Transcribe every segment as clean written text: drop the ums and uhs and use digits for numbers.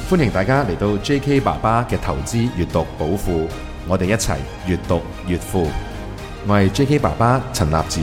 歡迎大家嚟到 J.K. 爸爸嘅投資閱讀寶庫，我哋一齊閱讀越富。我係 J.K. 爸爸陳立展。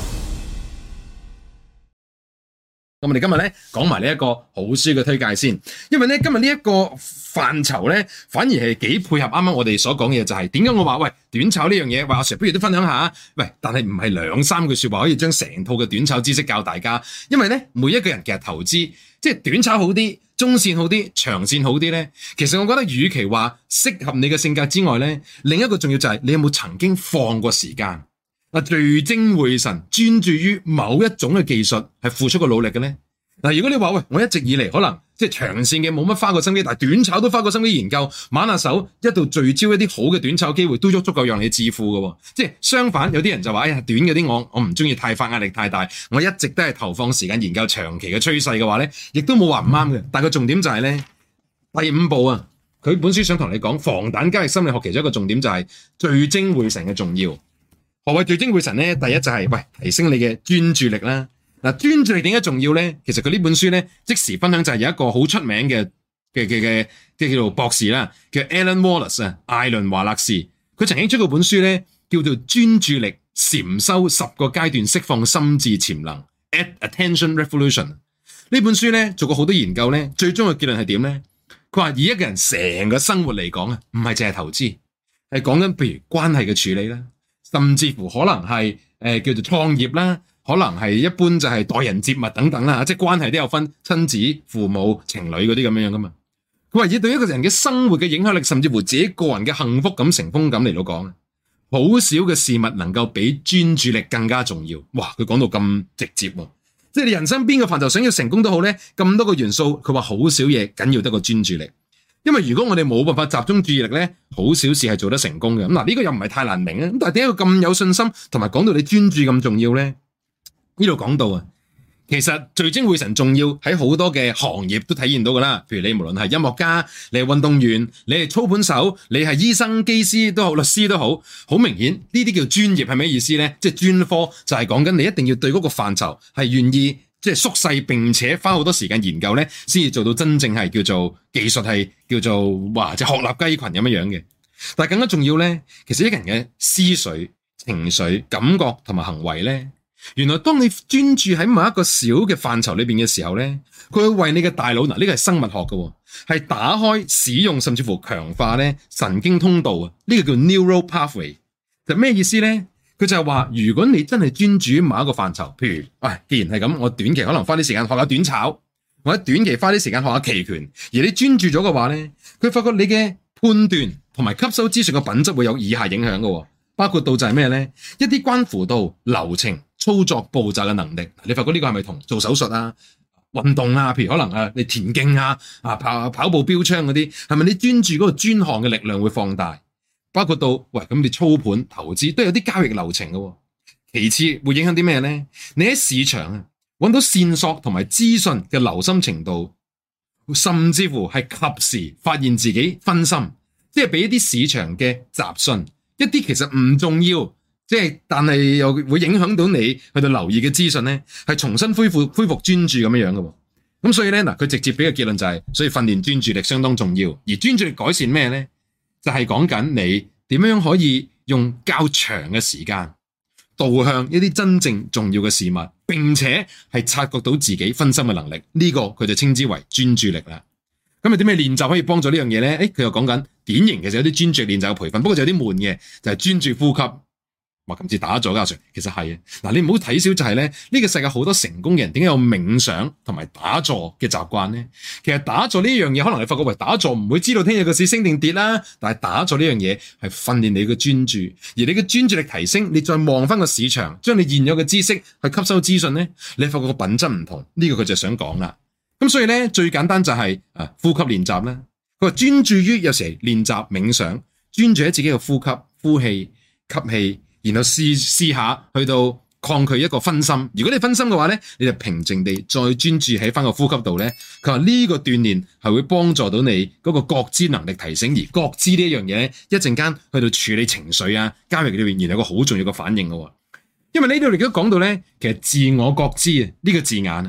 咁我哋今日咧講埋呢一個好書嘅推介先，因為咧今日呢一個範疇咧反而係幾配合啱啱我哋所講嘅嘢，就係點解我話喂短炒呢樣嘢，話阿 Sir 不如都分享下，喂，但係唔係兩三句說話可以將成套嘅短炒知識教大家，因為咧每一個人其實投資即係短炒好啲，中線好啲，長線好啲咧，其實我覺得與其話適合你嘅性格之外咧，另一個重要就係你有冇曾經放過時間聚精會神專注於某一種嘅技術係付出過努力嘅咧。如果你話喂，我一直以嚟可能即係長線嘅冇乜花過心機，但係短炒都花過心機研究，挽下手一度聚焦一啲好嘅短炒機會，都足夠讓你致富嘅。即係相反，有啲人就話哎呀，短嗰啲我唔中意太快，壓力太大，我一直都係投放時間研究長期嘅趨勢嘅話咧，亦都冇話唔啱嘅。但係個重點就係咧，第五步啊，佢本書想同你講防彈交易心理學其中一個重點就係聚精會神嘅重要。何謂聚精會神咧？第一就係喂提升你嘅專注力啦。專注力點解重要咧？其實佢呢本書咧即時分享就係有一個好出名嘅叫做博士啦，叫 Alan Wallace 啊，艾倫華勒士。佢曾經出過本書咧，叫做專注力禪修10個階段釋放心智潛能 Attention Revolution。呢本書咧做過好多研究咧，最終嘅結論係點咧？佢話以一個人成個生活嚟講啊，唔係淨係投資，係講緊譬如關係嘅處理啦。甚至乎可能係叫做創業啦，可能係一般就係待人接物等等啦，即係關係都有分親子、父母、情侶嗰啲咁樣噶嘛。佢話以對一個人嘅生活嘅影響力，甚至乎自己個人嘅幸福感、成功感嚟到講，好少嘅事物能夠比專注力更加重要。哇！佢講到咁直接喎，即係你人生邊個範疇想要成功都好咧，咁多個元素，佢話好少嘢緊要得過專注力。因為如果我哋冇辦法集中注意力咧，好少事係做得成功嘅。咁呢個又唔係太難明啊。咁但係點解佢咁有信心，同埋講到你專注咁重要咧？呢度講到啊，其實聚精會神重要喺好多嘅行業都體現到噶啦。譬如你無論係音樂家，你係運動員，你係操盤手，你係醫生、機師都好，律師都好，好明顯呢啲叫專業係咩意思咧？即係專科就係講緊你一定要對嗰個範疇係願意。即係縮細並且花好多時間研究咧，先至做到真正係叫做技術係叫做哇，即係鶴立雞群咁樣嘅。但係更加重要咧，其實一個人嘅思緒、情緒、感覺同埋行為咧，原來當你專注喺某一個小嘅範疇裏邊嘅時候咧，佢會為你嘅大腦，呢個係生物學嘅，係打開、使用甚至乎強化咧神經通道啊！呢個叫 neural pathway， 就咩意思咧？佢就係話，如果你真係專注於某一個範疇，譬如，既然係咁，我短期可能花啲時間學下短炒，或者短期花啲時間學下期權，而你專注咗嘅話咧，佢發覺你嘅判斷同埋吸收資訊嘅品質會有以下影響嘅，包括到就係咩咧？一啲關乎到流程、操作步驟嘅能力，你發覺呢個係咪同做手術啊、運動啊，譬如可能你田徑啊、跑步標槍嗰啲，係咪你專注嗰個專項嘅力量會放大？包括到喂，咁你操盤投資都有啲交易流程嘅。其次會影響啲咩咧？你喺市場啊揾到線索同埋資訊嘅留心程度，甚至乎係及時發現自己分心，即係俾一啲市場嘅雜訊，一啲其實唔重要，即係但係又會影響到你去到留意嘅資訊咧，係重新恢復專注咁樣嘅。咁所以咧佢直接俾個結論就係，所以訓練專注力相當重要。而專注力改善咩咧？就係講緊你點樣可以用較長嘅時間導向一啲真正重要嘅事物，並且係察覺到自己分心嘅能力，呢個佢就稱之為專注力啦。咁有啲咩練習可以幫助呢樣嘢咧？佢又講緊典型其實有啲專注練習嘅培訓，不過就有啲悶嘅，就係專注呼吸。哇，今次打咗㗎，其實係嗱，你唔好睇小就係咧，呢個世界好多成功嘅人點解有冥想同埋打坐嘅習慣咧？其實打坐呢樣嘢，可能你發覺打坐唔會知道聽日個市升定跌啦，但係打坐呢樣嘢係訓練你嘅專注，而你嘅專注力提升，你再望翻個市場，將你現有嘅知識去吸收資訊咧，你發覺個品質唔同，呢個佢就想講啦。咁所以咧最簡單就係呼吸練習啦。佢話專注於有時練習冥想，專注喺自己嘅呼吸、呼氣、吸氣。然後試下去到抗拒一個分心。如果你分心嘅話咧，你就平靜地再專注喺翻個呼吸度咧。佢話呢個鍛煉係會幫助到你嗰個覺知能力提升，而覺知呢一樣嘢咧，一陣間去到處理情緒啊、交易裏邊，然後有個好重要嘅反應嘅。因為呢度亦都講到咧，其實自我覺知啊呢個字眼啊，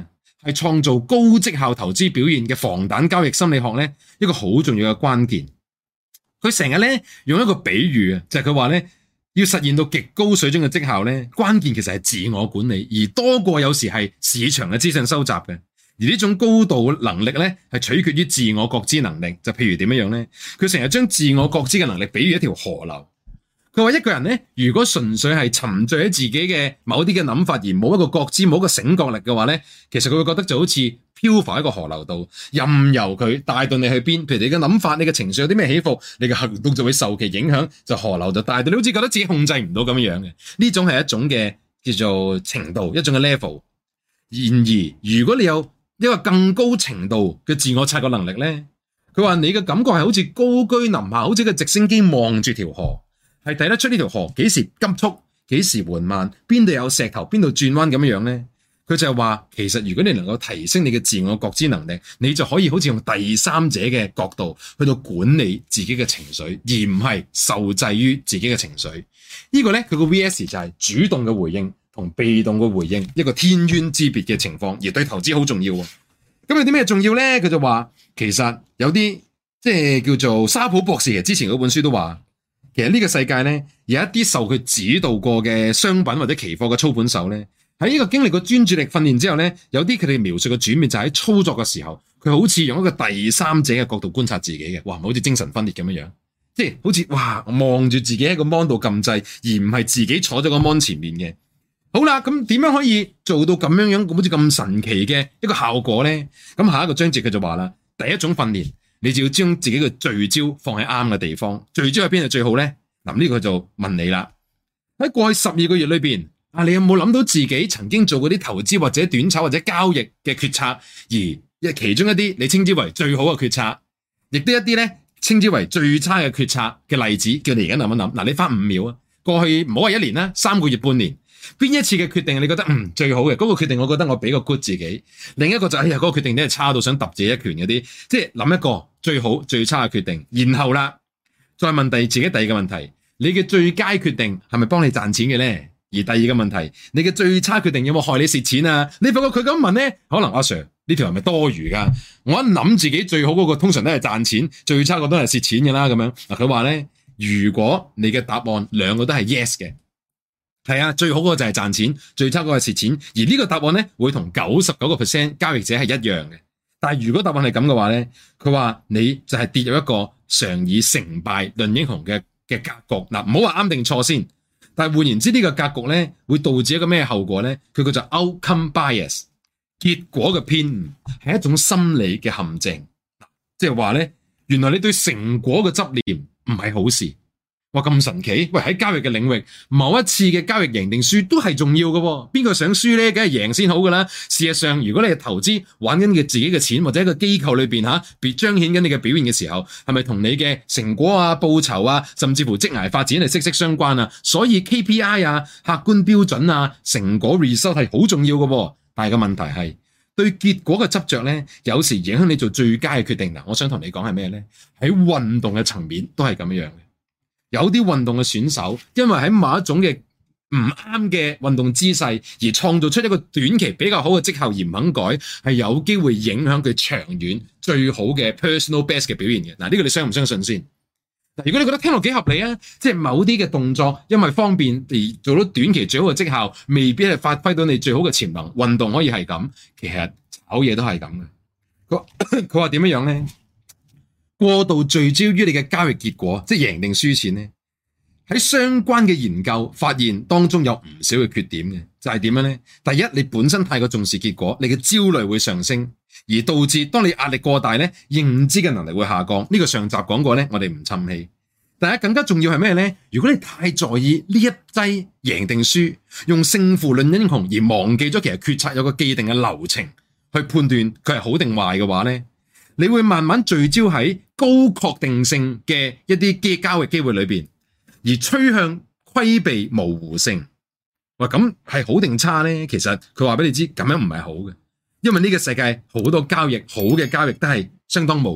係創造高績效投資表現嘅防彈交易心理學咧，一個好重要嘅關鍵。佢成日咧用一個比喻啊，就係佢話咧，要實現到極高水準嘅績效咧，關鍵其實係自我管理，而多過有時係市場嘅資訊收集嘅。而呢種高度能力咧，係取決於自我覺知能力。就譬如點樣咧？佢成日將自我覺知嘅能力比喻一條河流。佢話一個人咧，如果純粹係沉醉喺自己嘅某啲嘅諗法，而冇一個覺知、冇一個醒覺力嘅話咧，其實佢會覺得就好似漂浮喺個河流度，任由佢帶到你去邊。譬如你嘅諗法、你嘅情緒有啲咩起伏，你嘅行動就會受其影響，就河流就帶到你，好似覺得自己控制唔到咁樣嘅。呢種係一種嘅叫做程度，一種嘅 level。然而，如果你有一個更高程度嘅自我察覺能力咧，佢話你嘅感覺係好似高居臨下，好似個直升機望住條河。係睇得出呢條河幾時急速，幾時緩慢，邊度有石頭，邊度轉彎咁樣咧？佢就係話，其實如果你能夠提升你嘅自我覺知能力，你就可以好似用第三者嘅角度去到管理自己嘅情緒，而唔係受制於自己嘅情緒。呢個咧，佢個 VS 就係主動嘅回應同被動嘅回應，一個天淵之別嘅情況，而對投資好重要。咁有啲咩重要咧？佢就話，其實有啲即係叫做沙普博士之前嗰本書都話。其實呢個世界咧，有一啲受佢指導過嘅商品或者期貨嘅操盤手咧，喺呢個經歷過專注力訓練之後咧，有啲佢哋描述嘅轉變就喺操作嘅時候，佢好似用一個第三者嘅角度觀察自己嘅，哇，好似精神分裂咁樣樣，即係好似哇望住自己喺個 mon 度撳掣，而唔係自己坐咗個 mon 前面嘅。好啦，咁點樣可以做到咁樣樣，好似咁神奇嘅一個效果咧？咁下一個章節佢就話啦，第一種訓練。你就要將自己嘅聚焦放喺啱嘅地方，聚焦喺邊係最好咧？嗱，呢個就問你啦。喺過去12個月裏邊，你有冇諗到自己曾經做過啲投資或者短炒或者交易嘅決策，而其中一啲你稱之為最好嘅決策，亦都一啲咧稱之為最差嘅決策嘅例子，叫你而家諗一諗。嗱，你花5秒啊，過去唔好話1年啦，3個月、半年，邊一次嘅決定你覺得最好嘅嗰個決定，我覺得我俾個 good 自己。另一個就嗰個決定真係差到想揼自己一拳嗰啲，即係諗一個最好最差嘅決定，然後啦再問自己第二個問題，你嘅最佳決定係咪幫你賺錢嘅咧？而第二個問題，你嘅最差決定有冇害你蝕錢啊？你發覺佢咁問咧，可能阿 Sir 呢條係咪多餘噶？我一諗自己最好嗰個通常都係賺錢，最差嗰個都係蝕錢嘅啦。咁樣嗱，佢話咧，如果你嘅答案兩個都係 yes 嘅。係啊，最好嗰個就係賺錢，最差嗰個係蝕錢。而呢個答案咧，會同99% 交易者係一樣嘅。但係如果答案係咁嘅話咧，佢話你就係跌入一個常以成敗論英雄嘅格局。嗱，唔好話啱定錯先。但係換言之，呢個格局咧會導致一個咩後果咧？佢叫做 outcome bias， 結果嘅偏誤係一種心理嘅陷阱。即係話咧，原來你對成果嘅執念唔係好事。哇，咁神奇！喂，喺交易嘅領域，某一次嘅交易贏定輸都係重要嘅喎。邊個想輸咧？梗係贏先好噶啦。事實上，如果你係投資玩緊嘅自己嘅錢，或者一個機構裏邊別彰顯緊你嘅表現嘅時候，係咪同你嘅成果啊、報酬啊，甚至乎職涯發展係息息相關啊？所以 KPI 啊、客觀標準啊、成果 result 係好重要嘅喎。但係個問題係對結果嘅執着咧，有時影響你做最佳嘅決定。嗱，我想同你講係咩咧？喺運動嘅層面都係咁樣嘅。有啲運動嘅選手，因為喺某一種嘅唔啱嘅運動姿勢，而創造出一個短期比較好嘅績效而唔肯改，係有機會影響佢長遠最好嘅 personal best 嘅表現嘅。嗱，呢個你相唔相信先？嗱，如果你覺得聽落幾合理啊，即係某啲嘅動作因為方便而做到短期最好嘅績效，未必係發揮到你最好嘅潛能。運動可以係咁，其實炒嘢都係咁嘅。佢話點樣咧？過度聚焦於你嘅交易結果，即係贏定輸錢咧，喺相關嘅研究發現當中有唔少嘅缺點嘅，就係點樣咧？第一，你本身太過重視結果，你嘅焦慮會上升，而導致當你壓力過大咧，認知嘅能力會下降。呢個上集講過咧，我哋唔侵氣。但係更加重要係咩咧？如果你太在意呢一劑贏定輸，用勝負論英雄而忘記咗其實決策有個既定嘅流程去判斷佢係好定壞嘅話咧，你會慢慢聚焦喺高確定性嘅一啲交易機會裏邊，而趨向規避模糊性。哇，咁係好定差咧？其實佢話俾你知，咁樣唔係好嘅，因為呢個世界好多交易好嘅交易都係相當模糊，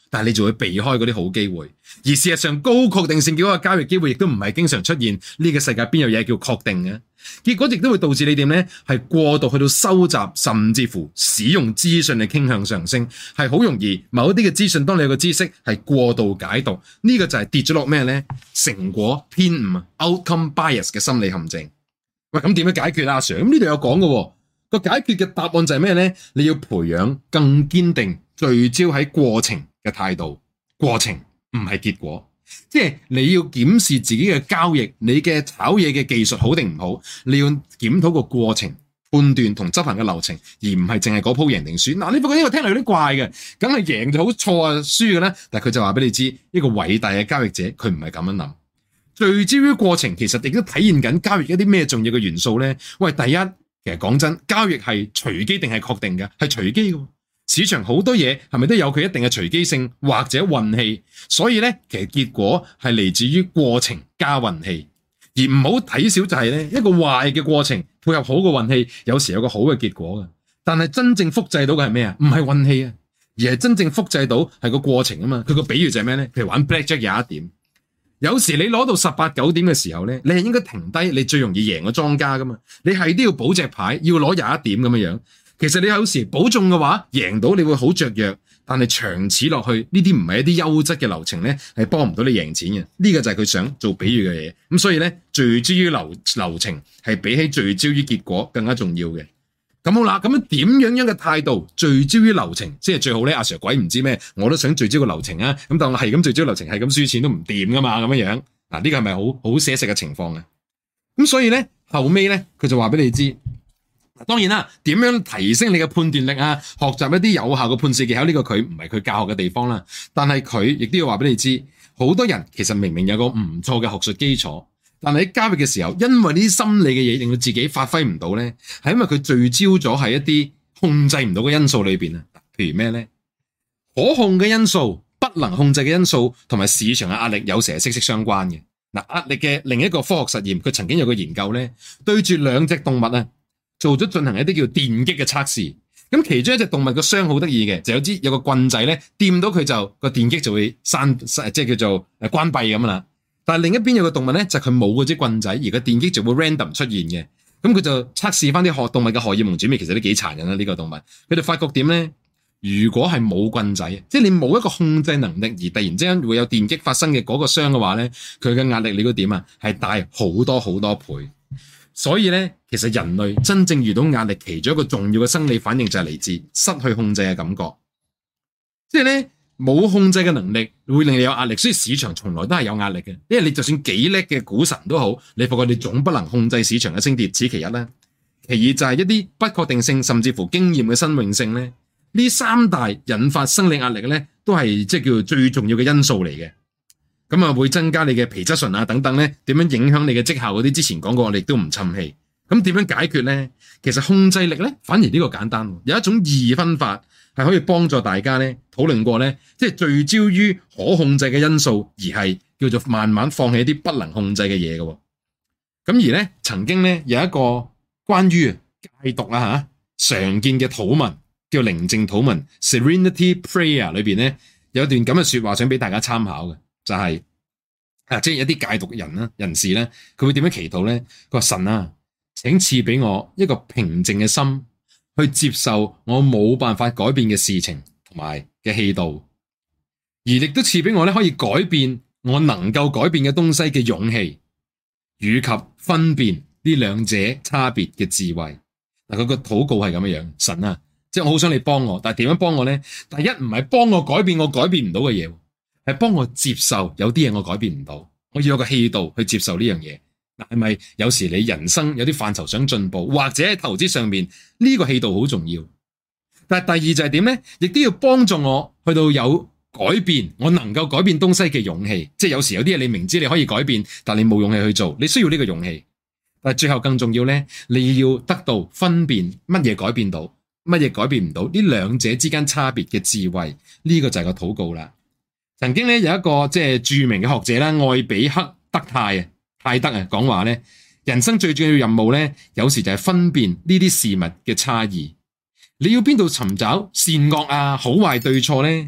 但係你就會避開嗰啲好機會。而事實上，高確定性結果嘅交易機會亦都唔係經常出現。呢個世界邊有嘢叫確定嘅？結果亦都會導致你點呢？係過度去到收集，甚至乎使用資訊嘅傾向上升，係好容易某一啲嘅資訊，當你有個知識係過度解讀，呢個就係跌咗落咩呢？成果偏誤 （outcome bias） 嘅心理陷阱。喂，咁點樣解決啊，阿 Sir？咁呢度有講嘅，個解決嘅答案就係咩呢？你要培養更堅定聚焦喺過程嘅態度，過程唔係結果。即係你要檢視自己嘅交易，你嘅炒嘢嘅技術好定唔好，你要檢討個過程、判斷同執行嘅流程，而唔係淨係嗰鋪贏定輸。嗱，你不過呢個聽落有啲怪嘅，梗係贏就好，錯啊輸嘅咧。但係佢就話俾你知，一個偉大嘅交易者，佢唔係咁樣諗。聚焦於過程，其實亦都體現緊交易一啲咩重要嘅元素咧？喂，第一，其實講真，交易係隨機定係確定嘅？係隨機嘅。市場好多嘢係咪都有佢一定嘅隨機性或者運氣？所以咧，其實結果係嚟自於過程加運氣，而唔好睇小就係咧，一個壞嘅過程配合好嘅運氣，有時有個好嘅結果嘅。但係真正複製到嘅係咩啊？唔係運氣啊，而係真正複製到係個過程啊嘛。佢個比喻就係咩咧？譬如玩 Blackjack 有一點，有時你攞到18、9點嘅時候咧，你係應該停低，你最容易贏嘅莊家噶嘛。你係都要補隻牌，要攞21點咁樣樣。其實你有時保中嘅話，贏到你會好雀躍，但係長此落去，呢啲唔係一啲優質嘅流程咧，係幫唔到你贏錢嘅。呢個就係佢想做比喻嘅嘢。咁所以咧，聚焦於流程係比起聚焦於結果更加重要嘅。咁好啦，咁樣點樣嘅態度聚焦於流程，即係最好咧。阿 Sir 鬼唔知咩，我都想聚焦個流程啊。咁但我係咁聚焦流程，係咁輸錢都唔掂噶嘛，咁樣樣。嗱，呢個係咪好寫實嘅情況啊？咁所以咧，後尾咧，佢就話俾你知。當然啦，點樣提升你嘅判斷力啊？學習一啲有效嘅判市技巧，呢個佢唔係佢教學嘅地方啦。但係佢亦都要話俾你知，好多人其實明明有個唔錯嘅學術基礎，但係喺交易嘅時候，因為呢啲心理嘅嘢令到自己發揮唔到咧，係因為佢聚焦咗喺一啲控制唔到嘅因素裏邊啊。譬如咩咧？可控嘅因素、不能控制嘅因素同埋市場嘅壓力有時係息息相關嘅。嗱，壓力嘅另一個科學實驗，佢曾經有個研究咧，對住兩隻動物啊，做咗進行一啲叫電擊嘅測試，咁其中一隻動物個傷好得意嘅，就有個棍仔咧，掂到佢就個電擊就會閂，即係叫做關閉咁啦。但係另一邊有個動物咧，就佢冇嗰支棍仔，而個電擊就會 random 出現嘅。咁佢就測試翻啲動物嘅荷爾蒙轉變，其實都幾殘忍啦。呢個動物佢哋發覺點咧？如果係冇棍仔，即係你冇一個控制能力，而突然之間會有電擊發生嘅嗰個傷嘅話咧，佢嘅壓力你估點啊？係大好多好多倍。所以咧，其實人類真正遇到壓力，其中一個重要嘅生理反應就係嚟自失去控制嘅感覺。即係咧，冇控制嘅能力會令你有壓力，所以市場從來都係有壓力嘅。因為你就算幾叻嘅股神都好，你發覺你總不能控制市場嘅升跌，此其一啦。其二就係一啲不確定性，甚至乎經驗嘅新穎性咧，呢三大引發生理壓力咧，都係即係叫做最重要嘅因素嚟嘅。咁啊，會增加你嘅皮質醇啊等等咧，點樣影響你嘅績效嗰啲？之前講過，我哋都唔侵氣。咁點樣解決咧？其實控制力咧，反而呢個簡單，有一種二分法係可以幫助大家咧討論過咧，即係聚焦於可控制嘅因素，而係叫做慢慢放棄一啲不能控制嘅嘢嘅。咁而咧，曾經咧有一個關於戒毒啊常見嘅禱文，叫寧靜禱文 （Serenity Prayer） 裏邊咧有一段咁嘅說話，想俾大家參考嘅。就係即係一啲戒毒人士咧，佢會點樣祈禱咧？佢話神啊，請賜俾我一個平靜嘅心，去接受我冇辦法改變嘅事情同埋嘅氣度，而亦都賜俾我咧可以改變我能夠改變嘅東西嘅勇氣，以及分辨呢兩者差別嘅智慧。嗱，佢個禱告係咁樣樣，神啊，即係我好想你幫我，但係點樣幫我咧？第一唔係幫我改變我改變唔到嘅嘢。係幫我接受有啲嘢我改變唔到，我要有個氣度去接受呢樣嘢。嗱，係咪有時你人生有啲範疇想進步，或者喺投資上面呢個氣度好重要？但係第二就係點咧？亦都要幫助我去到有改變，我能夠改變東西嘅勇氣。即係有時有啲嘢你明知你可以改變，但你冇勇氣去做，你需要呢個勇氣。但係最後更重要咧，你要得到分辨乜嘢改變到，乜嘢改變唔到，呢兩者之間差別嘅智慧，呢個就係個禱告啦。曾經咧有一個即係著名嘅學者啦，愛比克德泰德講話咧，人生最重要任務咧，有時就係分辨呢啲事物嘅差異。你要邊度尋找善惡啊、好壞對錯咧？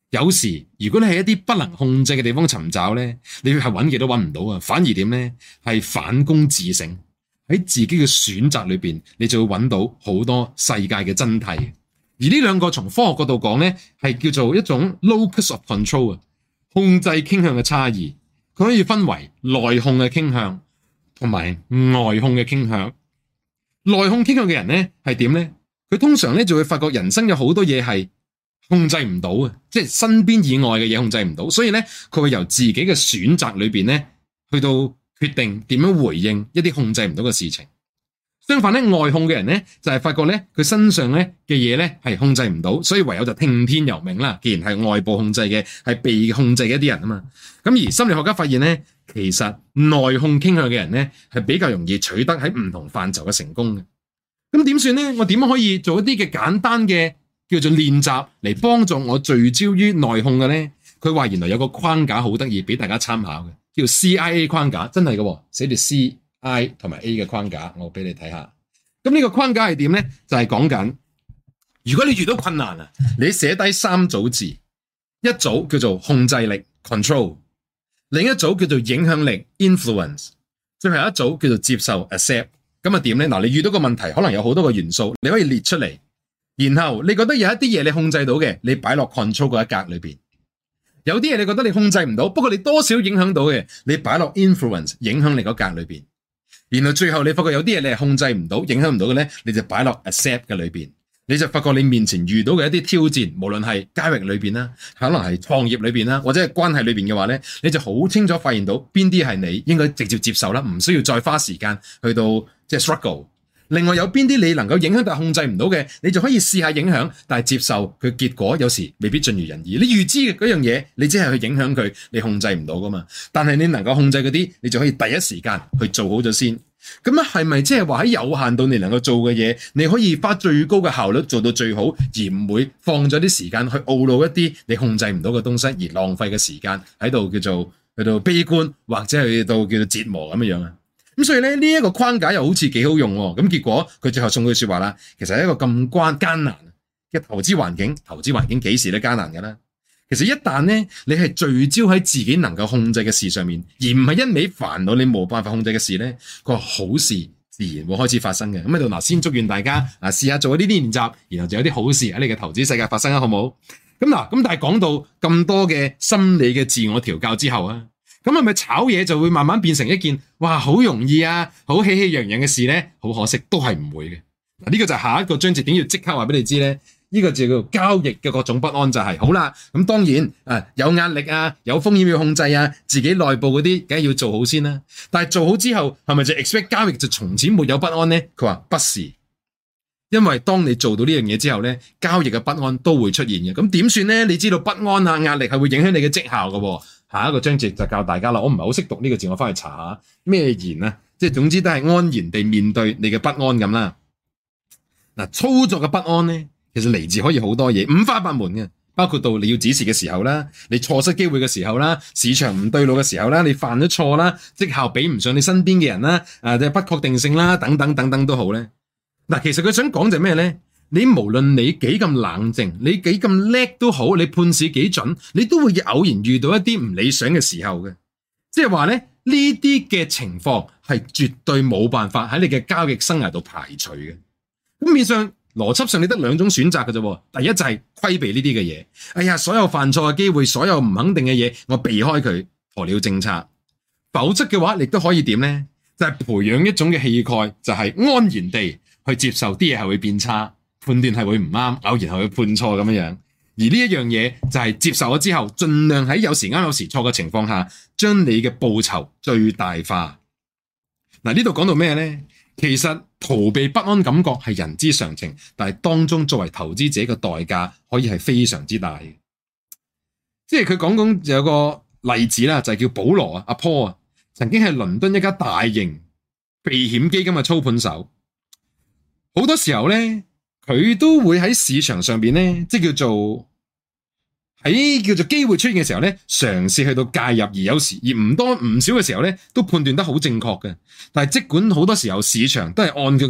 有時如果你喺一啲不能控制嘅地方尋找咧，你係揾極都揾唔到啊，反而點咧係反躬自省，喺自己嘅選擇裏邊，你就會揾到好多世界嘅真諦。而呢兩個從科學角度講咧，係叫做一種 locus of control 啊，控制傾向嘅差異。佢可以分為內控嘅傾向同埋外控嘅傾向。內控傾向嘅人咧係點咧？佢通常咧就會發覺人生有好多嘢係控制唔到嘅，即係身邊以外嘅嘢控制唔到，所以咧佢會由自己嘅選擇裏邊咧去到決定點樣回應一啲控制唔到嘅事情。相反咧，外控嘅人咧就係發覺咧佢身上咧嘅嘢咧係控制唔到，所以唯有就聽天由命啦。既然係外部控制嘅，係被控制嘅一啲人啊嘛。咁而心理學家發現咧，其實內控傾向嘅人咧係比較容易取得喺唔同範疇嘅成功嘅。咁點算咧？我點樣可以做一啲嘅簡單嘅叫做練習嚟幫助我聚焦於內控嘅咧？佢話原來有個框架好得意，俾大家參考嘅，叫 CIA 框架，真係嘅，寫住 C、I 同埋 A 嘅框架，我俾你睇下。咁呢個框架係點咧？就係講緊，如果你遇到困難啊，你寫低3組字，一組叫做控制力 （control）， 另一組叫做影響力 （influence）， 最後一組叫做接受 （accept）。咁啊點咧？嗱，你遇到個問題，可能有好多個元素，你可以列出嚟，然後你覺得有一啲嘢你控制到嘅，你擺落 control 嗰一格裏邊；有啲嘢你覺得你控制唔到，不過你多少影響到嘅，你擺落 influence 影響力嗰格裏邊。然後最後你發覺有啲嘢你係控制唔到、影響唔到嘅咧，你就擺落 accept 嘅裏邊。你就發覺你面前遇到嘅一啲挑戰，無論係交易裏邊啦，可能係創業裏邊啦，或者係關係裏邊嘅話咧，你就好清楚發現到邊啲係你應該直接接受啦，唔需要再花時間去到即係 struggle。另外有邊啲你能夠影響但係控制唔到嘅，你就可以試下影響，但係接受佢結果有時未必盡如人意。你預知嘅嗰樣嘢，你只係去影響佢，你控制唔到噶嘛。但係你能夠控制嗰啲，你就可以第一時間去做好咗先。咁啊，係咪即係話喺有限度你能夠做嘅嘢，你可以花最高嘅效率做到最好，而唔會放咗啲時間去懊惱一啲你控制唔到嘅東西，而浪費嘅時間喺度叫做去到悲觀，或者去到叫做折磨咁樣啊？咁所以咧，呢一個框架又好似幾好用喎。咁結果佢最後送句說話啦，其實係一個咁艱難嘅投資環境，投資環境幾時都艱難㗎啦。其實一旦咧，你係聚焦喺自己能夠控制嘅事上面，而唔係一味煩惱你冇辦法控制嘅事咧，個好事自然會開始發生嘅。咁喺度嗱，先祝願大家試下做呢啲練習，然後就有啲好事喺你嘅投資世界發生啊，好唔好？咁嗱，咁但係講到咁多嘅心理嘅自我調教之後啊，咁係咪炒嘢就會慢慢變成一件哇好容易啊，好喜氣洋洋嘅事咧？好可惜，都係唔會嘅。嗱，呢個就係下一個章節點要即刻話俾你知咧。呢個就叫做交易嘅各種不安就係好啦，咁當然有壓力啊，有風險要控制啊，自己內部嗰啲梗係要做好先啦。但係做好之後係咪就 expect 交易就從此沒有不安呢？佢話不是，因為當你做到呢樣嘢之後呢，交易嘅不安都會出現嘅。咁點算呢？你知道不安啊、壓力係會影響你嘅績效嘅。下一個章節就教大家啦。我唔係好識讀呢個字，我翻去查下咩言啊，即係總之都係安然地面對你嘅不安咁啦。嗱，操作嘅不安呢，其實嚟自可以好多嘢，五花八門嘅，包括到你要指示嘅時候啦，你錯失機會嘅時候啦，市場唔對路嘅時候啦，你犯咗錯啦，績效比唔上你身邊嘅人啦，即係不確定性啦，等等等等都好咧。嗱，其實佢想講就係咩咧？你無論你幾咁冷靜，你幾咁叻都好，你判市幾準，你都會偶然遇到一啲唔理想嘅時候嘅。即係話咧，呢啲嘅情況係絕對冇辦法喺你嘅交易生涯度排除嘅。咁面上邏輯上你得兩種選擇嘅啫。第一就係規避呢啲嘅嘢，哎呀，所有犯錯嘅機會，所有唔肯定嘅嘢，我避開佢，鴕鳥政策。否則嘅話，你都可以點咧？就係培養一種嘅氣概，就係安然地去接受啲嘢係會變差，判斷係會唔啱，偶然係會判錯咁樣樣。而呢一樣嘢就係接受咗之後，盡量喺有時啱有時錯嘅情況下，將你嘅報酬最大化。嗱，呢度講到咩咧？其實逃避不安感覺係人之常情，但係當中作為投資者嘅代價可以係非常之大嘅。即係佢講有個例子啦，就係叫保羅啊，阿 Paul 啊，曾經係倫敦一家大型避險基金嘅操盤手。好多時候咧，佢都會喺市場上邊咧，即係叫做機會出現嘅時候咧，嘗試去到介入，而有時而唔多唔少嘅時候咧，都判斷得好正確嘅。但係即管好多時候市場都係按佢嘅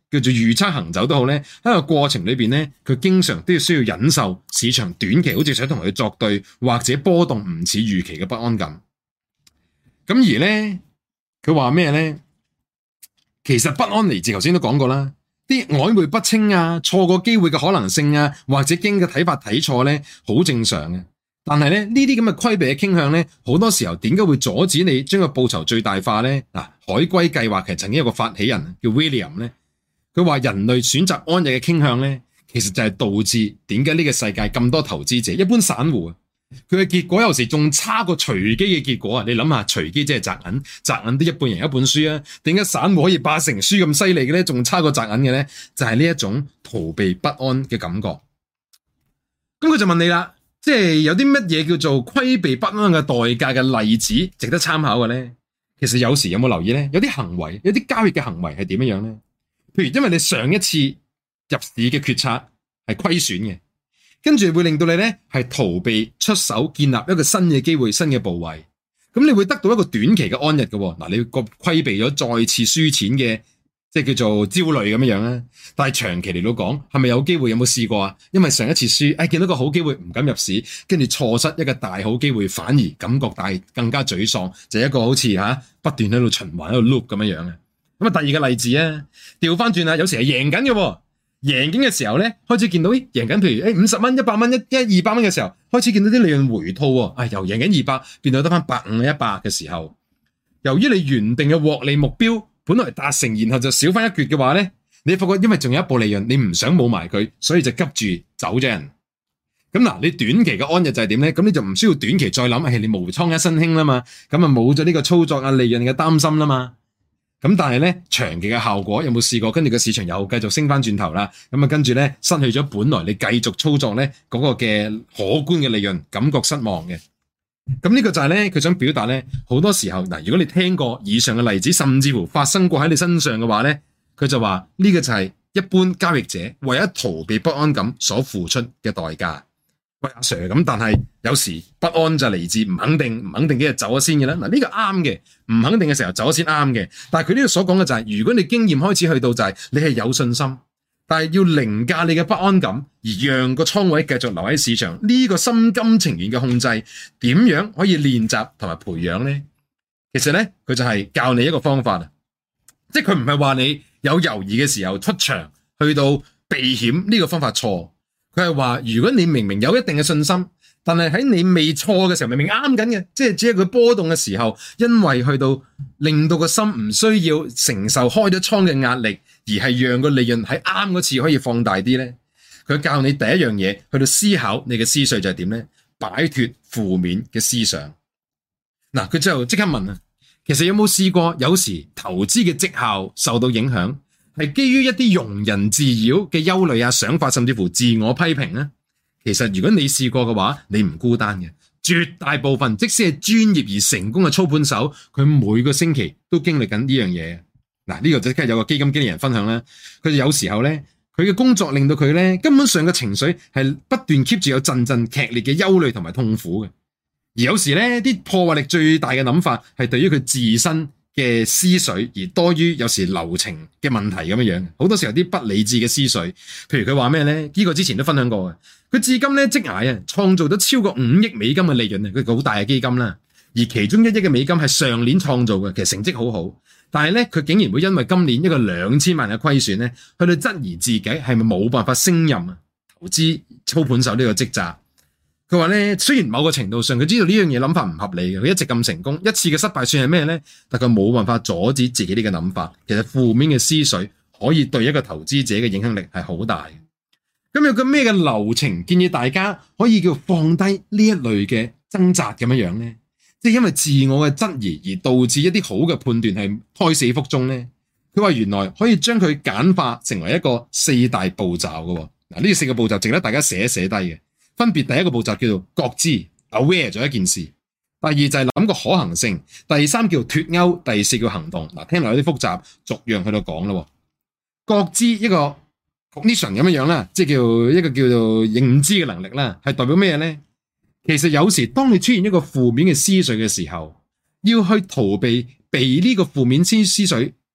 叫做預測行走都好咧，喺個過程裏邊咧，佢經常都要需要忍受市場短期好似想同佢作對，或者波動唔似預期嘅不安感。咁而咧，佢話咩咧？其實不安嚟自頭先都講過啦，啲曖昧不清啊，錯過機會嘅可能性啊，或者經嘅睇法睇錯咧，好正常嘅。但係咧，呢啲咁嘅規避嘅傾向咧，好多時候點解會阻止你將個報酬最大化咧？嗱，海龜計劃其實曾經有個發起人叫 William 咧，佢話人類選擇安逸嘅傾向咧，其實就係導致點解呢個世界咁多投資者，一般散戶啊，佢嘅結果有時仲差過隨機嘅結果啊！你諗下，隨機即係擲銀，擲銀都一半贏一半輸啊！點解散戶可以8成輸咁犀利嘅咧？仲差過擲銀嘅咧？就係呢一種逃避不安嘅感覺。咁佢就問你啦。即係有啲乜嘢叫做規避不安嘅代價嘅例子值得參考嘅咧？其實有時有冇留意咧？有啲行為，有啲交易嘅行為係點樣咧？譬如因為你上一次入市嘅決策係虧損嘅，跟住會令到你咧係逃避出手建立一個新嘅機會、新嘅部位，咁你會得到一個短期嘅安逸嘅。嗱，你個規避咗再次輸錢嘅。即係叫做焦慮咁樣啦，但係長期嚟到講，係咪有機會？有冇試過啊？因為上一次輸，見到個好機會唔敢入市，跟住錯失一個大好機會，反而感覺更加沮喪，就係一個好似不斷喺度循環喺度 loop 咁樣樣嘅。咁啊，第二個例子啊，調翻轉啦，有時係贏緊嘅，贏緊嘅時候咧，開始見到贏緊，譬如50蚊、100蚊、200蚊嘅時候，開始見到啲利潤回吐喎，由贏緊200變到得翻150、100嘅時候，由於你原定嘅獲利目標本來達成，然後就少翻一橛嘅話咧，你發覺因為仲有一步利潤，你唔想冇埋佢，所以就急住走咗人。咁嗱，你短期嘅安逸就係點咧？咁你就唔需要短期再諗，你無倉一身輕啦嘛，咁啊冇咗呢個操作啊利潤嘅擔心啦嘛。咁但係咧，長期嘅效果有冇試過？跟住個市場又繼續升翻轉頭啦，咁啊跟住咧失去咗本來你繼續操作咧嗰個嘅可觀嘅利潤，感覺失望嘅。咁呢個就係咧，佢想表達咧，好多時候嗱，如果你聽過以上嘅例子，甚至乎發生過喺你身上嘅話咧，佢就話呢個就係一般交易者為咗逃避不安感所付出嘅代價。喂，阿 Sir， 咁但係有時不安就嚟自唔肯定，唔肯定幾日走咗先嘅啦。嗱，呢個啱嘅，唔肯定嘅時候走咗先啱嘅。但係佢呢度所講嘅就係，如果你經驗開始去到就係你係有信心，但係要凌駕你嘅不安感，而讓個倉位繼續留喺市場，呢個心甘情願嘅控制，點樣可以練習同埋培養呢？其實呢，佢就係教你一個方法啊，即係佢唔係話你有猶豫嘅時候出場去到避險，呢個方法錯。佢係話，如果你明明有一定嘅信心，但係喺你未錯嘅時候，明明啱緊嘅，即係只係佢波動嘅時候，因為去到令到個心唔需要承受開咗倉嘅壓力，而係讓個利潤喺啱嗰次可以放大啲咧。佢教你第一樣嘢，去到思考你嘅思緒就係點咧？擺脫負面嘅思想。嗱，佢之後即刻問啊，其實有冇試過有時投資嘅績效受到影響，係基於一啲庸人自擾嘅憂慮啊、想法，甚至乎自我批評呢？其實如果你試過嘅話，你唔孤單嘅。絕大部分即使係專業而成功嘅操盤手，佢每個星期都經歷緊呢樣嘢。嗱，呢個即刻有個基金經理人分享啦。佢有時候咧，佢嘅工作令到佢咧根本上嘅情緒係不斷 keep 住有陣陣劇烈嘅憂慮同埋痛苦嘅。而有時咧，啲破壞力最大嘅諗法係對於佢自身嘅思緒，而多於有時流程嘅問題咁樣樣。好多時候啲不理智嘅思緒，譬如佢話咩咧？呢個之前都分享過嘅。佢至今咧職涯啊，創造咗超過5億美金嘅利潤啊！佢個好大嘅基金啦，而其中1億嘅美金係上年創造嘅，其實成績好好。但係咧，佢竟然會因為今年一個2000萬嘅虧損咧，去到質疑自己係咪冇辦法勝任啊投資操盤手呢個職責。佢話咧，雖然某個程度上佢知道呢樣嘢諗法唔合理嘅，佢一直咁成功，一次嘅失敗算係咩咧？但佢冇辦法阻止自己呢個諗法。其實負面嘅思緒可以對一個投資者嘅影響力係好大嘅。咁有個咩嘅流程建議大家可以叫放低呢一類嘅掙扎咁樣樣咧？即係因為自我嘅質疑而導致一啲好嘅判斷係胎死腹中咧？佢話原來可以將佢簡化成為一個4大步驟嘅。嗱，呢4個步驟值得大家寫低嘅。分別第一個步驟叫做覺知 aware 咗一件事，第二就係諗個可行性，第3叫脫鈎，第4叫行動。嗱，聽落有啲複雜，逐樣去到講咯。覺知一個 cognition 咁樣啦，即係叫一個叫做認知嘅能力啦，係代表咩咧？其實有時當你出現一個負面嘅思緒嘅時候，要去逃避被呢個負面思緒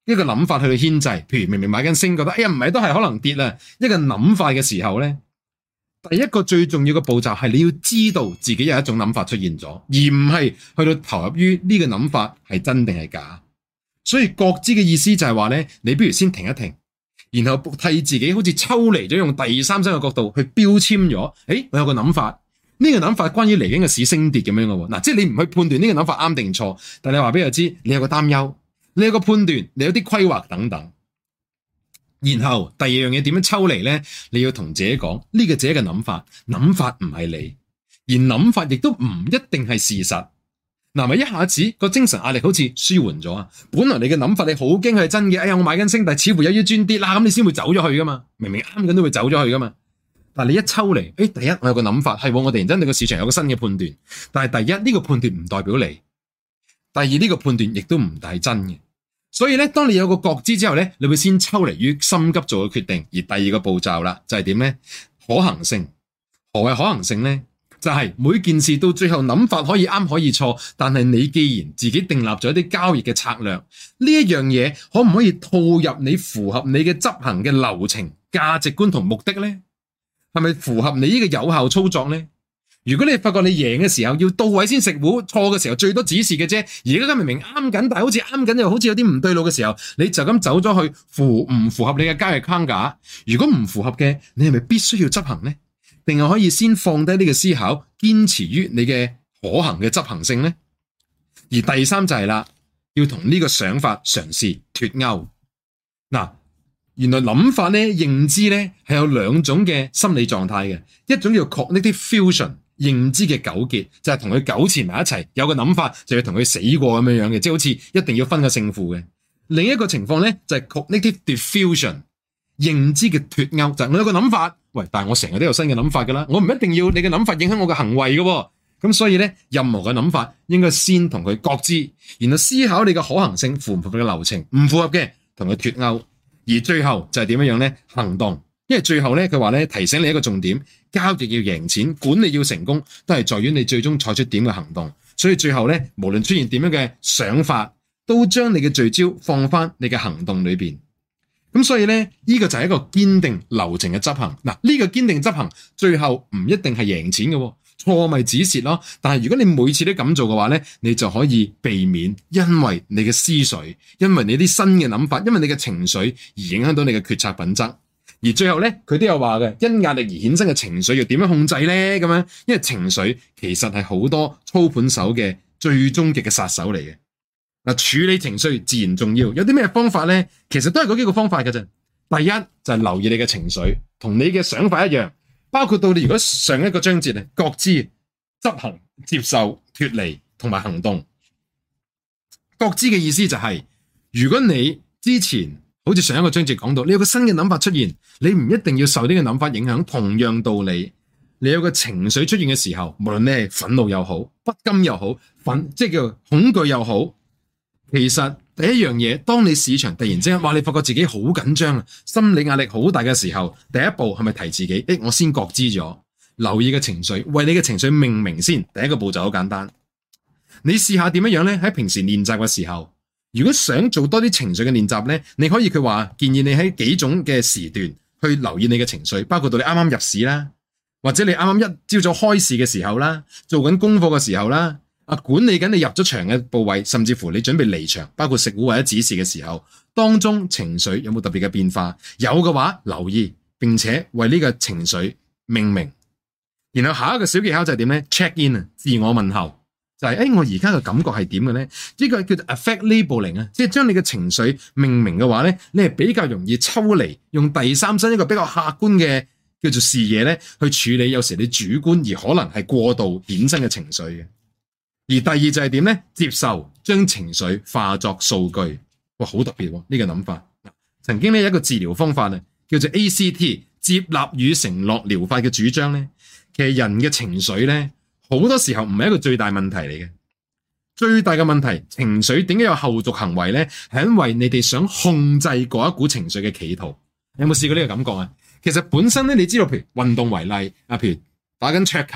一個諗法去到牽制，譬如明明買緊升，覺得哎呀唔係都係可能跌啦，一個諗法嘅時候咧，第一個最重要嘅步驟係你要知道自己有一種諗法出現咗，而唔係去到投入於呢個諗法係真定係假。所以覺知嘅意思就係話咧，你不如先停一停，然後替自己好似抽離咗，用第三身嘅角度去標籤咗，我有個諗法，呢個諗法關於嚟緊嘅市升跌咁樣嘅喎。嗱，即係你唔去判斷呢個諗法啱定錯，但係你話俾佢知，你有個擔憂，你有個判斷，你有啲規劃等等。然後第二樣嘢點樣抽離呢？你要同自己講，呢個自己嘅諗法，諗法唔係你，而諗法亦都唔一定係事實。嗱，咪一下子個精神壓力好似舒緩咗啊！本來你嘅諗法你好驚佢係真嘅，哎呀我買緊升，但係似乎有啲轉跌啦，咁你先會走咗去噶嘛？明明啱緊都會走咗去噶嘛？但係你一抽離，第一我有個諗法係我突然間對個市場有個新嘅判斷，但係第一呢個判斷唔代表你，第二呢個判斷亦都唔係真嘅。所以咧，當你有個覺知之後咧，你會先抽離於心急做嘅決定，而第二個步驟啦就係點咧？可行性。何謂可行性咧？就係每件事到最後諗法可以啱可以錯，但係你既然自己訂立咗一啲交易嘅策略，呢一樣嘢可唔可以套入你符合你嘅執行嘅流程、價值觀同目的呢？係咪符合你呢個有效操作呢？如果你發覺你贏嘅時候要到位先食糊，錯嘅時候最多指示嘅啫。而家明明啱緊，但係好似啱緊又好似有啲唔對路嘅時候，你就咁走咗去符唔符合你嘅交易框架？如果唔符合嘅，你係咪必須要執行呢？定係可以先放低呢個思考，堅持於你嘅可行嘅執行性呢？而第三就係啦，要同呢個想法嘗試脫鈎。嗱，原來諗法咧、認知咧係有兩種嘅心理狀態嘅，一種叫 cognitive fusion， 認知嘅糾結，就係同佢糾纏埋一齊，有個諗法就要同佢死過咁樣嘅，即係好似一定要分個勝負嘅。另一個情況咧就係 cognitive diffusion， 認知嘅脫鈎，就係我有個諗法。喂，但係我成日都有新嘅諗法噶啦，我唔一定要你嘅諗法影響我嘅行為嘅，咁所以咧，任何嘅諗法應該先同佢覺知，然後思考你嘅可行性符唔符合你嘅流程，唔符合嘅同佢脫鈎，而最後就係點樣咧？行動，因為最後咧佢話咧提醒你一個重點，交易要贏錢，管理要成功，都係在於你最終採取點嘅行動，所以最後咧無論出現點樣嘅想法，都將你嘅聚焦放翻你嘅行動裏邊。咁所以咧，呢個就係一個堅定流程嘅執行。嗱，呢個堅定執行，最後唔一定係贏錢嘅，錯咪止蝕咯。但係如果你每次都咁做嘅話咧，你就可以避免因為你嘅思緒，因為你啲新嘅諗法，因為你嘅情緒而影響到你嘅決策品質。而最後咧，佢都有話嘅，因壓力而衍生嘅情緒要點樣控制咧？咁樣，因為情緒其實係好多操盤手嘅最終極嘅殺手嚟嘅。嗱，處理情緒自然重要，有啲咩方法呢？其實都係嗰幾個方法嘅啫。第一就係留意你嘅情緒，同你嘅想法一樣，包括到你如果上一個章節咧，覺知、執行、接受、脫離同埋行動。覺知嘅意思就係，如果你之前好似上一個章節講到，你有個新嘅諗法出現，你唔一定要受呢個諗法影響。同樣道理，你有個情緒出現嘅時候，無論你係憤怒又好、不甘又好、即係叫恐懼又好。其實第一樣嘢，當你市場突然之間話你發覺自己好緊張啊，心理壓力好大嘅時候，第一步係咪提自己？我先覺知咗，留意嘅情緒，為你嘅情緒命名先。第一個步驟好簡單，你試下點樣呢？喺平時練習嘅時候，如果想做多啲情緒嘅練習呢，你可以佢話建議你喺幾種嘅時段去留意你嘅情緒，包括到你啱啱入市啦，或者你啱啱一朝早開市嘅時候啦，做緊功課嘅時候啦。管理緊你入咗場嘅部位，甚至乎你準備離場，包括食糊或者指示嘅時候，當中情緒有冇特別嘅變化？有嘅話，留意並且為呢個情緒命名。然後下一個小技巧就係點呢？ check in 啊，自我問候，就係我而家嘅感覺係點嘅呢？呢個叫做 affect labeling 啊，即係將你嘅情緒命名嘅話呢，你係比較容易抽離，用第三身一個比較客觀嘅叫做視野呢去處理有時你主觀而可能係過度衍生嘅情緒嘅。而第二就係點呢？接受，將情緒化作數據。哇，好特別喎！呢個諗法。曾經有一個治療方法叫做 ACT 接納與承諾療法嘅主張呢，其實人嘅情緒呢，好多時候唔係一個最大問題嚟嘅。最大嘅問題，情緒點解有後續行為呢？係因為你哋想控制嗰一股情緒嘅企圖。有冇試過呢個感覺啊？其實本身呢，你知道，譬如運動為例，譬如打緊桌球。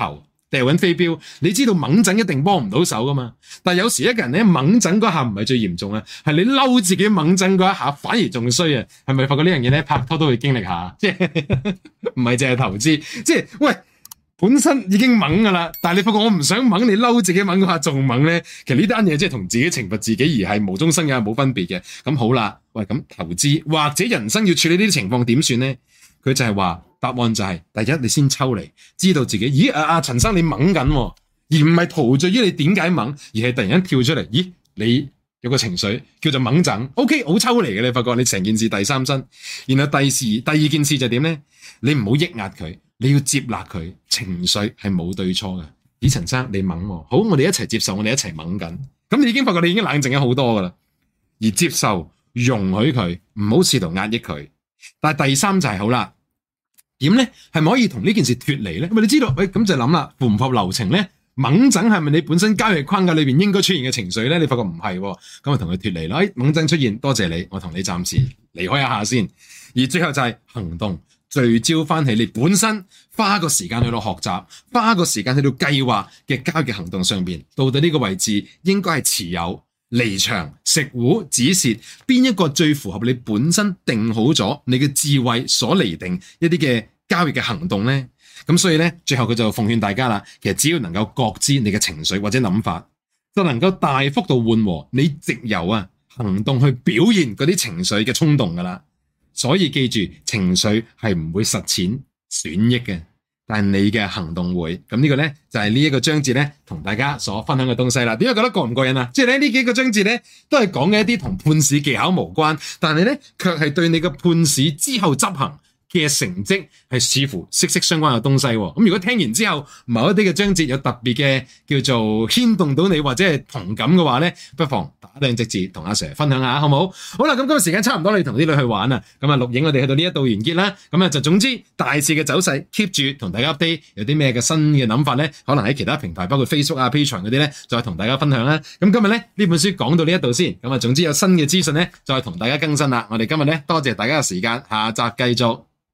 掉緊飛鏢，你知道猛整一定幫唔到手噶嘛？但係有時一個人咧猛整嗰下唔係最嚴重啊，係你嬲自己猛整嗰一下反而仲衰啊！係咪發覺呢樣嘢咧拍拖都會經歷下？即係唔係淨係投資，即係喂本身已經猛噶啦，但係你發覺我唔想猛，你嬲自己猛嗰下仲猛咧，其實呢單嘢即係同自己懲罰自己而係無中生有冇分別嘅。咁好啦，喂咁投資或者人生要處理呢啲情況點算咧？佢就係話答案就係第一，你先抽離，知道自己，咦陳生你猛緊，而唔係陶醉於你點解猛，而係突然間跳出嚟，咦你有個情緒叫做猛整 ，OK 好抽離嘅，你發覺你成件事第三身，然後第二件事就點咧？你唔好抑壓佢，你要接納佢，情緒係冇對錯嘅。咦陳生你猛，好我哋一齊接受，我哋一齊猛緊，咁你已經發覺你已經冷靜咗好多噶啦，而接受容許佢，唔好試圖壓抑佢。但係第三就係好啦，點咧？係咪可以同呢件事脫離咧？咁你知道，咁就諗啦，符唔符合流程咧？猛整係咪你本身交易框架裏邊應該出現嘅情緒咧？你發覺唔係，咁就同佢脫離啦。猛整出現，多謝你，我同你暫時離開一下先。而最後就係行動，聚焦翻起你本身花個時間去到學習，花個時間去到計劃嘅交易行動上邊，到底呢個位置應該係持有、離場、食糊、止蝕，邊一個最符合你本身定好咗你嘅智慧所釐定一啲嘅交易嘅行動呢？咁所以呢，最後佢就奉勸大家啦，其實只要能夠覺知你嘅情緒或者諗法，就能夠大幅度緩和你藉由行動去表現嗰啲情緒嘅衝動噶啦。所以記住，情緒係唔會實踐損益嘅。但係你嘅行動會，咁呢個咧就係呢一個章節咧同大家所分享嘅東西啦。點解覺得過唔過癮啊？即係咧呢幾個章節咧都係講嘅一啲同判市技巧無關，但係咧卻係對你嘅判市之後執行嘅成績係似乎息息相關嘅東西。咁如果聽完之後某一啲嘅章節有特別嘅叫做牽動到你或者係同感嘅話咧，不妨打兩隻字同阿 Sir 分享下，好唔好？好啦，咁今日時間差唔多，你同啲女去玩啊。咁錄影我哋去到呢一度完結啦。咁就總之大市嘅走勢 keep 住同大家 update， 有啲咩嘅新嘅諗法咧，可能喺其他平台包括 Facebook Patreon 嗰啲咧，再同大家分享啦。咁今日咧呢本書講到呢一度先。咁總之有新嘅資訊咧，再同大家更新啦。我哋今日咧多謝大家嘅時間，下集繼續。